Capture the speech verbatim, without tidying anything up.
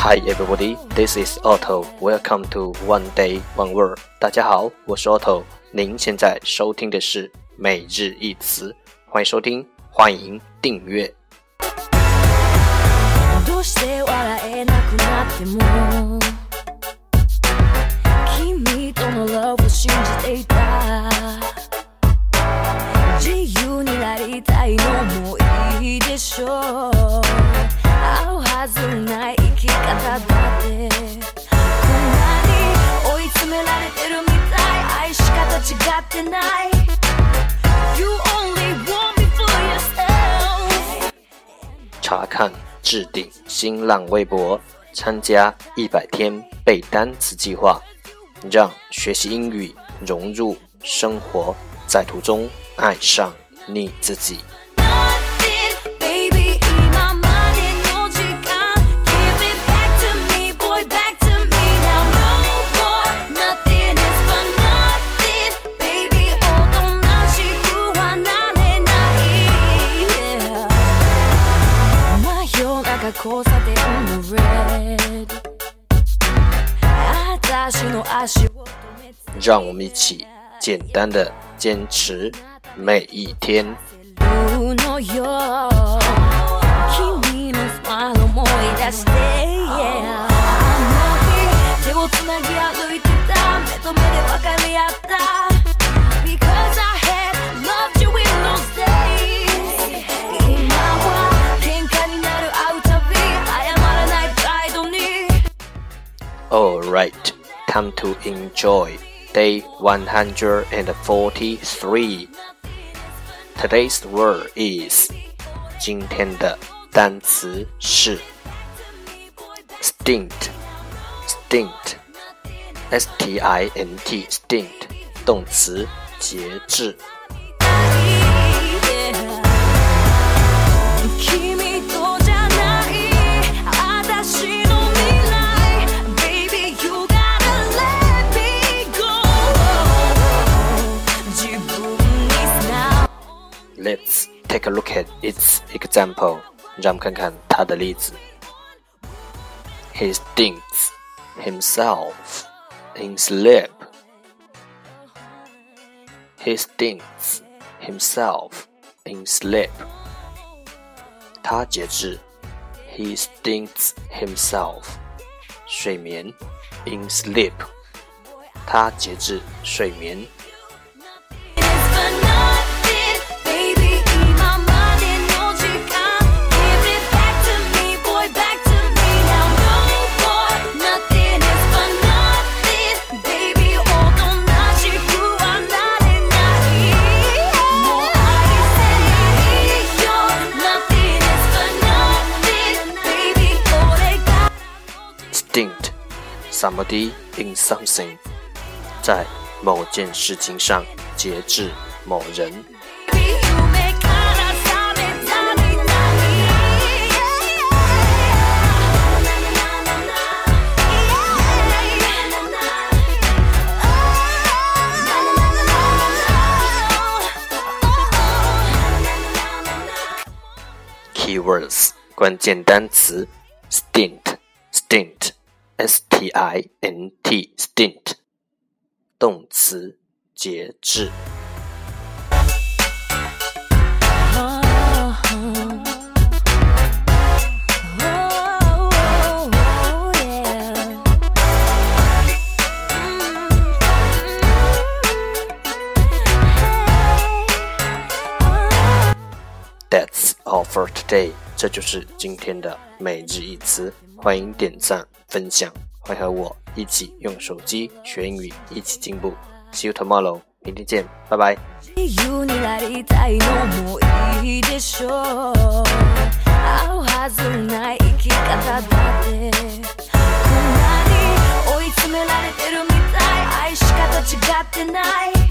Hi everybody, this is Otto. Welcome to One Day One Word. 大家好，我是 Otto。您现在收听的是每日一词，欢迎收听，欢迎订阅。どうして笑えなくなっても君との love を信じていた自由になりたいのもいいでしょう合うはずない生き方だってこんなに追い詰められてるみたい愛し方違ってない You only want me for yourself 查看置顶新浪微博，参加一百天背单词计划，让学习英语融入生活，在途中爱上你自己。让我们一起简单的坚持每一天。Alright, time to enjoy day one hundred forty-three. Today's word is 今天的单词是 stint, stint, S T I N T, stint, 动词节制。Let's take a look at its example. 让我们看看它的例子。He stinks himself in sleep. He stinks himself in sleep. 他节制。He stinks himself. 睡眠 in sleep. 他节制睡眠。Stint somebody in something 在某件事情上节制某人。Keywords 关键单词 stint stint S T I N T, stint 动词节制。That's all for today. 这就是今天的每日一词。欢迎点赞分享，欢迎和我一起用手机学英语，一起进步。See you tomorrow. 明天见，拜拜。自由になりたいのもいいでしょう。合うはずない生き方だってこんなに追い詰められてるみたい愛し方違ってない